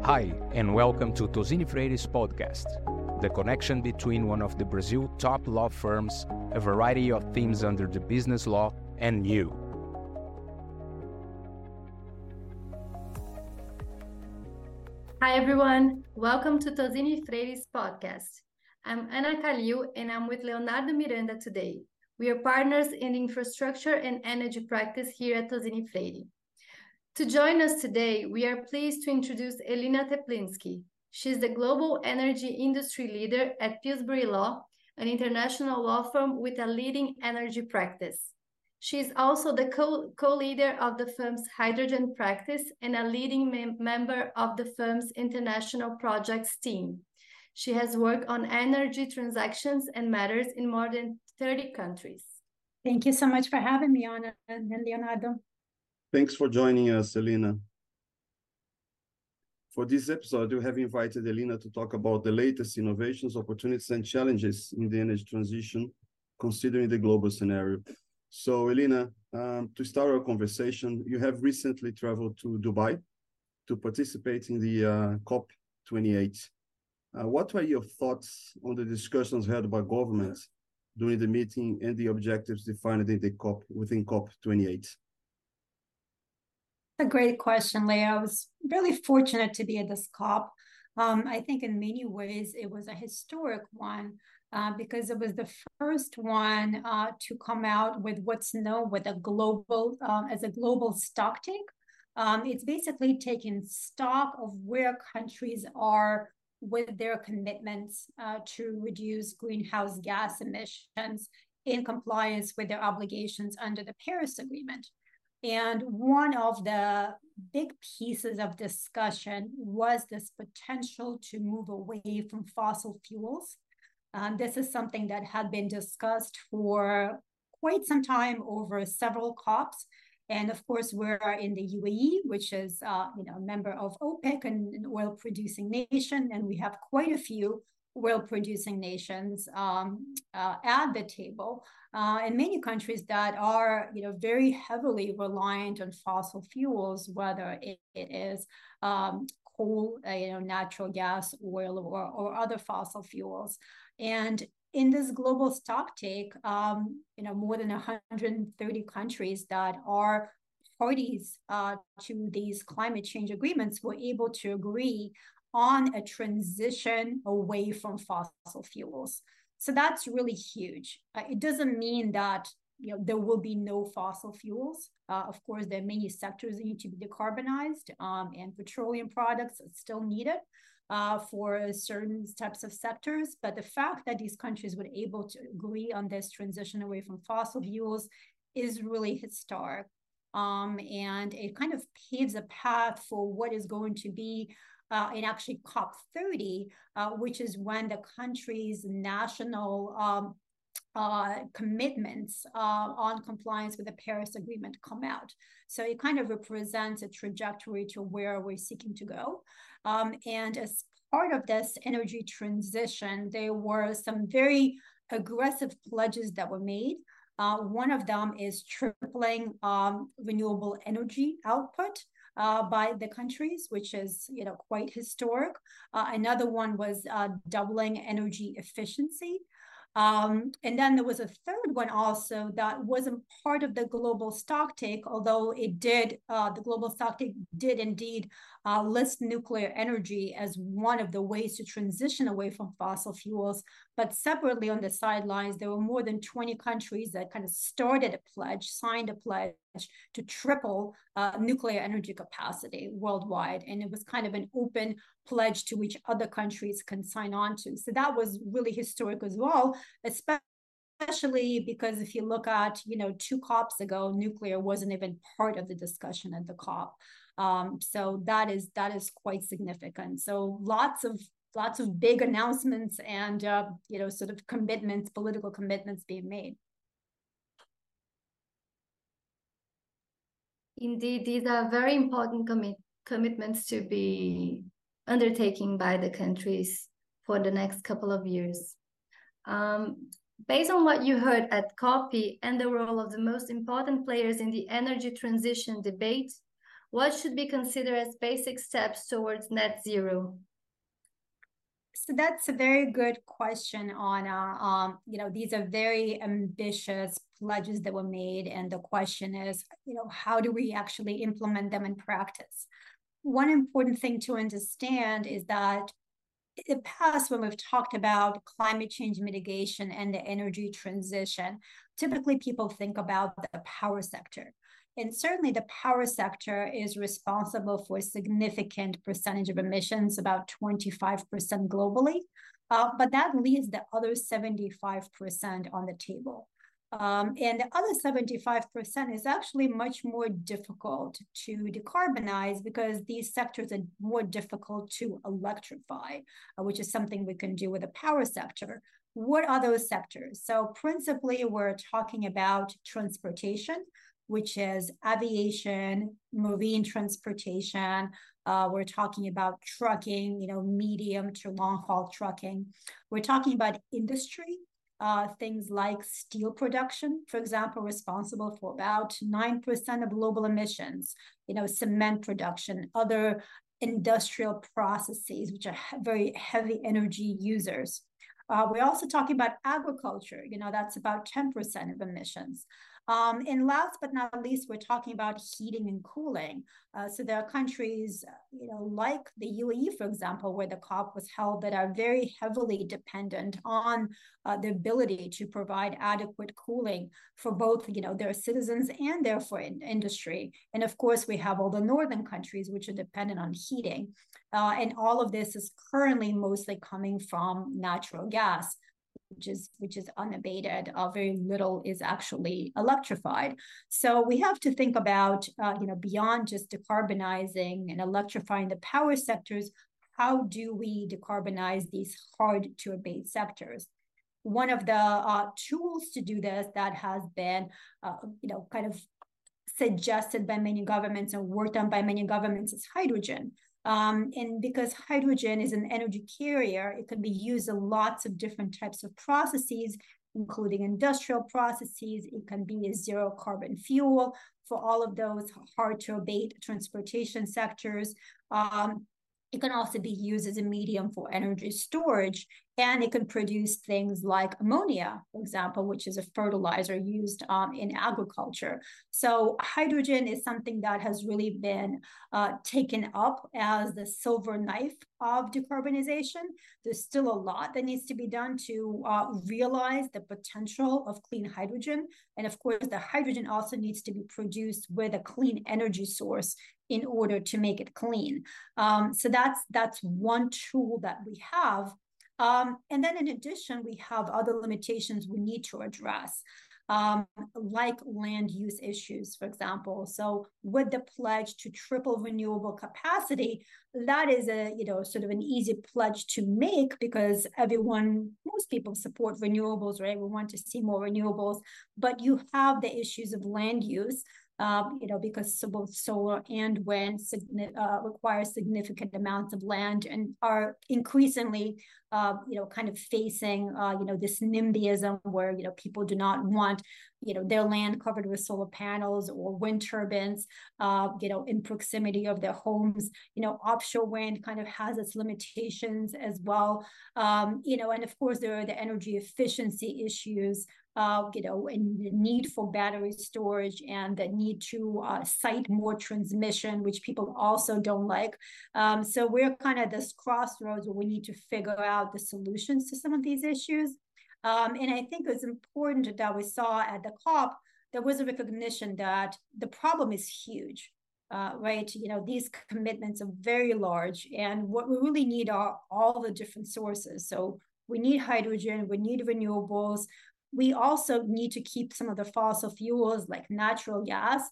Hi, and welcome to Tosini Freire's podcast, the connection between one of the Brazil top law firms, a variety of themes under the business law, and you. Hi everyone, welcome to Tosini Freire's podcast. I'm Ana Calil and I'm with Leonardo Miranda today. We are partners in infrastructure and energy practice here at Tosini Freire. To join us today, we are pleased to introduce Elina Teplinsky. She's the global energy industry leader at Pillsbury Law, an international law firm with a leading energy practice. She is also the co-leader of the firm's hydrogen practice and a leading member of the firm's international projects team. She has worked on energy transactions and matters in more than 30 countries. Thank you so much for having me, Ana and Leonardo. Thanks for joining us, Elina. For this episode, we have invited Elina to talk about the latest innovations, opportunities, and challenges in the energy transition, considering the global scenario. So, Elina, to start our conversation, you have recently traveled to Dubai to participate in the COP28. What are your thoughts on the discussions held by governments during the meeting and the objectives defined in the within COP28? A great question, Leah. I was really fortunate to be at this COP. I think in many ways it was a historic one because it was the first one to come out with what's known with a global as a global stocktake. It's basically taking stock of where countries are with their commitments to reduce greenhouse gas emissions in compliance with their obligations under the Paris Agreement. And one of the big pieces of discussion was this potential to move away from fossil fuels. This is something that had been discussed for quite some time over several COPs. And of course, we're in the UAE, which is a member of OPEC and an oil-producing nation, and we have quite a few oil-producing nations at the table, and many countries that are, very heavily reliant on fossil fuels, whether it is coal, natural gas, oil, or other fossil fuels. And in this global stocktake, more than 130 countries that are parties to these climate change agreements were able to agree on a transition away from fossil fuels. So that's really huge. It doesn't mean that there will be no fossil fuels. Of course, there are many sectors that need to be decarbonized, and petroleum products are still needed for certain types of sectors. But the fact that these countries were able to agree on this transition away from fossil fuels is really historic. And it kind of paves a path for what is going to be in actually COP30, which is when the country's national commitments on compliance with the Paris Agreement come out. So it kind of represents a trajectory to where we're seeking to go. And as part of this energy transition, there were some very aggressive pledges that were made. One of them is tripling renewable energy output by the countries, which is quite historic. Another one was doubling energy efficiency. And then there was a third one also that wasn't part of the global stocktake, although it did, the global stocktake did indeed list nuclear energy as one of the ways to transition away from fossil fuels. But separately on the sidelines, there were more than 20 countries that kind of started a pledge, signed a pledge to triple nuclear energy capacity worldwide. And it was kind of an open pledge to which other countries can sign on to. So that was really historic as well, especially because if you look at, 2 COPs ago, nuclear wasn't even part of the discussion at the COP. So that is quite significant. So lots of big announcements and, sort of commitments, political commitments being made. Indeed, these are very important commitments to be undertaken by the countries for the next couple of years. Based on what you heard at COP and the role of the most important players in the energy transition debate, What should be considered as basic steps towards net zero? So that's a very good question, Anna. These are very ambitious pledges that were made, and the question is, how do we actually implement them in practice? One important thing to understand is that in the past, when we've talked about climate change mitigation and the energy transition, typically people think about the power sector. And certainly the power sector is responsible for a significant percentage of emissions, about 25% globally. But that leaves the other 75% on the table. And the other 75% is actually much more difficult to decarbonize because these sectors are more difficult to electrify, which is something we can do with the power sector. What are those sectors? So principally, we're talking about transportation, which is aviation, marine transportation. We're talking about trucking, medium to long haul trucking. We're talking about industry. Things like steel production, for example, responsible for about 9% of global emissions, cement production, other industrial processes, which are very heavy energy users. We're also talking about agriculture, that's about 10% of emissions. And last but not least, we're talking about heating and cooling. So there are countries, like the UAE, for example, where the COP was held, that are very heavily dependent on the ability to provide adequate cooling for both, their citizens and therefore industry. And of course, we have all the northern countries, which are dependent on heating. And all of this is currently mostly coming from natural gas, which is unabated. Very little is actually electrified. So we have to think about, beyond just decarbonizing and electrifying the power sectors, how do we decarbonize these hard to abate sectors? One of the tools to do this that has been, kind of suggested by many governments and worked on by many governments is hydrogen. And because hydrogen is an energy carrier, it can be used in lots of different types of processes, including industrial processes. It can be a zero carbon fuel for all of those hard to abate transportation sectors. It can also be used as a medium for energy storage, and it can produce things like ammonia, for example, which is a fertilizer used in agriculture. So hydrogen is something that has really been taken up as the silver knife of decarbonization. There's still a lot that needs to be done to realize the potential of clean hydrogen. And of course, the hydrogen also needs to be produced with a clean energy source in order to make it clean. So that's one tool that we have. And then in addition, we have other limitations we need to address, like land use issues, for example. So with the pledge to triple renewable capacity, that is a, sort of an easy pledge to make because most people support renewables, right? We want to see more renewables, but you have the issues of land use. Because both solar and wind require significant amounts of land and are increasingly, kind of facing, this NIMBYism where, people do not want, their land covered with solar panels or wind turbines, in proximity of their homes. Offshore wind kind of has its limitations as well. And of course, there are the energy efficiency issues, and the need for battery storage and the need to site more transmission, which people also don't like. So we're kind of this crossroads where we need to figure out the solutions to some of these issues. And I think it's important that we saw at the COP, there was a recognition that the problem is huge. Right? These commitments are very large, and what we really need are all the different sources. So we need hydrogen, we need renewables. We also need to keep some of the fossil fuels like natural gas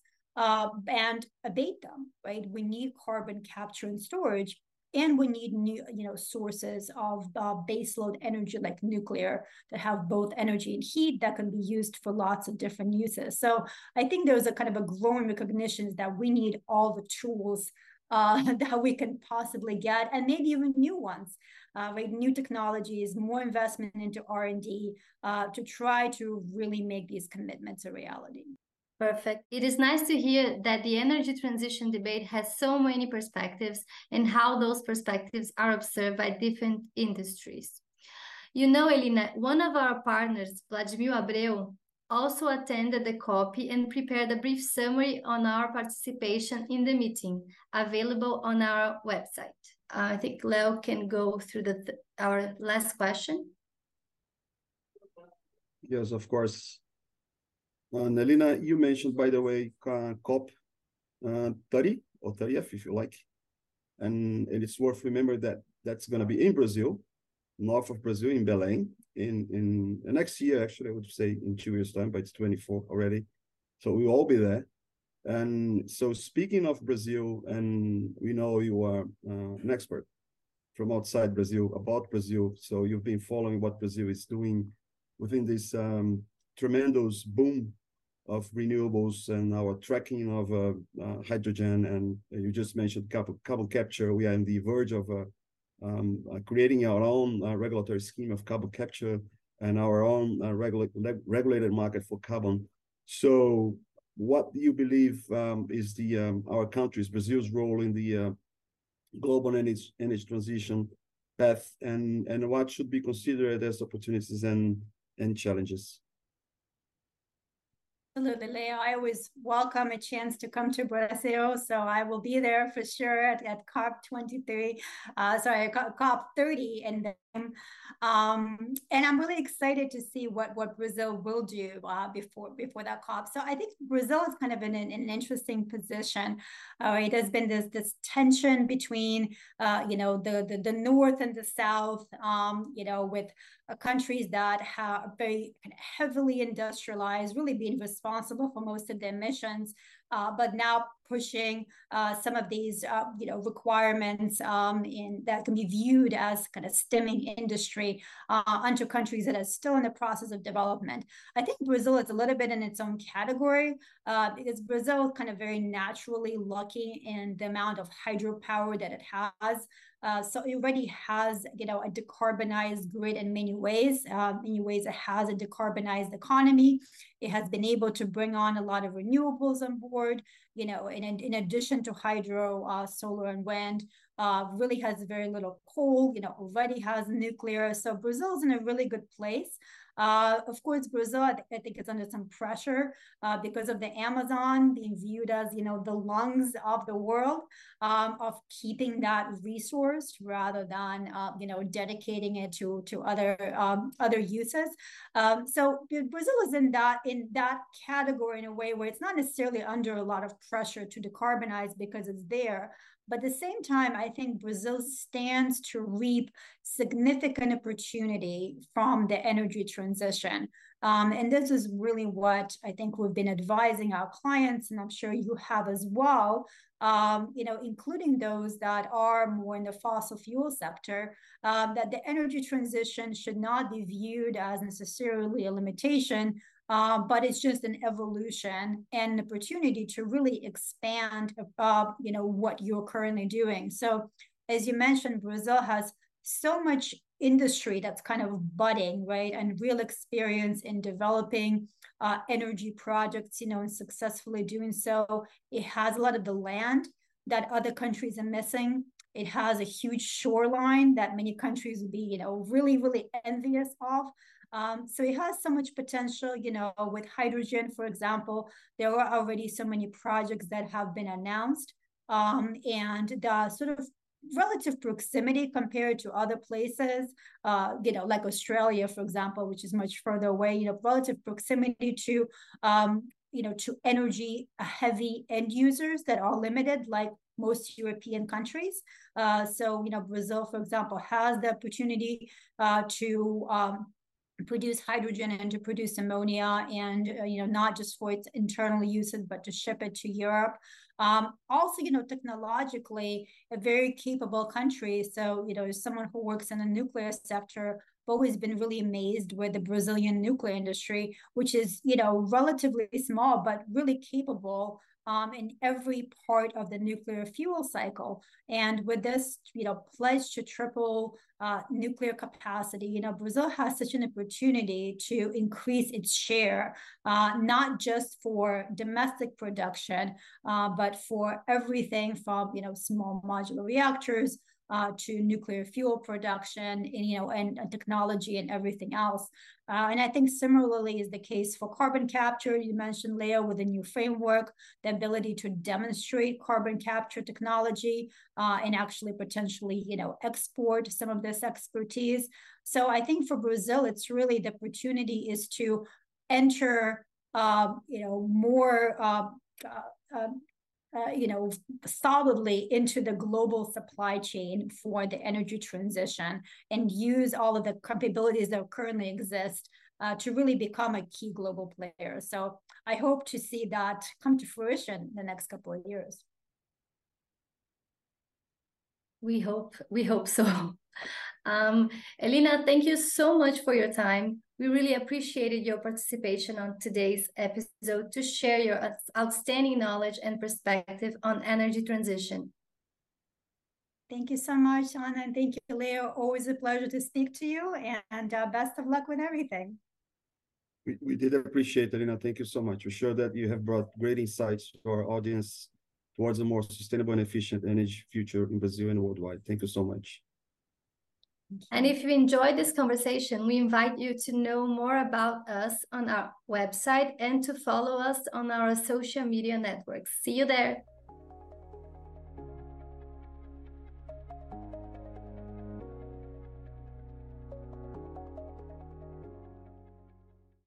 and abate them, right? We need carbon capture and storage, and we need new, sources of baseload energy like nuclear that have both energy and heat that can be used for lots of different uses. So I think there's a kind of a growing recognition that we need all the tools that we can possibly get, and maybe even new ones. Right, new technologies, more investment into R&D to try to really make these commitments a reality. Perfect. It is nice to hear that the energy transition debate has so many perspectives and how those perspectives are observed by different industries. You know, Elina, one of our partners, Vladimir Abreu, also attended the COP and prepared a brief summary on our participation in the meeting, available on our website. I think Leo can go through our last question. Yes, of course. And Elina, you mentioned, by the way, COP 30 or 30th, if you like. And it's worth remembering that that's going to be in Brazil, north of Brazil, in Belém, in next year, actually, I would say in 2 years' time, but it's 24 already. So we'll all be there. And so speaking of Brazil, and we know you are an expert from outside Brazil, about Brazil. So you've been following what Brazil is doing within this tremendous boom of renewables and our tracking of hydrogen. And you just mentioned carbon capture. We are on the verge of creating our own regulatory scheme of carbon capture and our own regulated market for carbon. So what do you believe is our country's, Brazil's role in the global energy transition path, and what should be considered as opportunities and challenges? Absolutely, Leo. I always welcome a chance to come to Brazil, so I will be there for sure at COP 23. COP 30, and I'm really excited to see what Brazil will do before that COP. So I think Brazil is kind of in an interesting position. It has been this tension between the north and the south, with countries that have very heavily industrialized, really being responsible for most of the emissions, but now pushing some of these requirements that can be viewed as kind of stemming industry onto countries that are still in the process of development. I think Brazil is a little bit in its own category because Brazil is kind of very naturally lucky in the amount of hydropower that it has. So it already has, a decarbonized grid in many ways. It has a decarbonized economy. It has been able to bring on a lot of renewables on board, in addition to hydro, solar and wind. Really has very little coal, already has nuclear. So Brazil's in a really good place. Of course, Brazil, I think it's under some pressure because of the Amazon being viewed as, the lungs of the world, of keeping that resource rather than, dedicating it to other uses. So Brazil is in that category in a way where it's not necessarily under a lot of pressure to decarbonize because it's there. But at the same time, I think Brazil stands to reap significant opportunity from the energy transition. And this is really what I think we've been advising our clients, and I'm sure you have as well, including those that are more in the fossil fuel sector, that the energy transition should not be viewed as necessarily a limitation, but it's just an evolution and an opportunity to really expand, what you're currently doing. So as you mentioned, Brazil has so much industry that's kind of budding, right? And real experience in developing energy projects, and successfully doing so. It has a lot of the land that other countries are missing. It has a huge shoreline that many countries would be, really, really envious of. So it has so much potential, with hydrogen, for example. There are already so many projects that have been announced, and the sort of relative proximity compared to other places, like Australia, for example, which is much further away, relative proximity to, to energy heavy end users that are limited, like most European countries. So, Brazil, for example, has the opportunity to produce hydrogen and to produce ammonia, and not just for its internal uses, but to ship it to Europe. Also, technologically a very capable country. So, as someone who works in the nuclear sector, I've always been really amazed with the Brazilian nuclear industry, which is, relatively small, but really capable in every part of the nuclear fuel cycle. And with this, pledge to triple nuclear capacity, Brazil has such an opportunity to increase its share, not just for domestic production, but for everything from, small modular reactors to nuclear fuel production, and technology and everything else. And I think similarly is the case for carbon capture. You mentioned, Leo, with the new framework, the ability to demonstrate carbon capture technology and actually potentially, export some of this expertise. So I think for Brazil, it's really the opportunity is to enter, more solidly into the global supply chain for the energy transition and use all of the capabilities that currently exist to really become a key global player. So I hope to see that come to fruition in the next couple of years. We hope so. Elina, thank you so much for your time. We really appreciated your participation on today's episode to share your outstanding knowledge and perspective on energy transition. Thank you so much, Anna, and thank you, Leo. Always a pleasure to speak to you, and best of luck with everything. We did appreciate it, Elina. Thank you so much. We're sure that you have brought great insights to our audience towards a more sustainable and efficient energy future in Brazil and worldwide. Thank you so much. And if you enjoyed this conversation, we invite you to know more about us on our website and to follow us on our social media networks. See you there.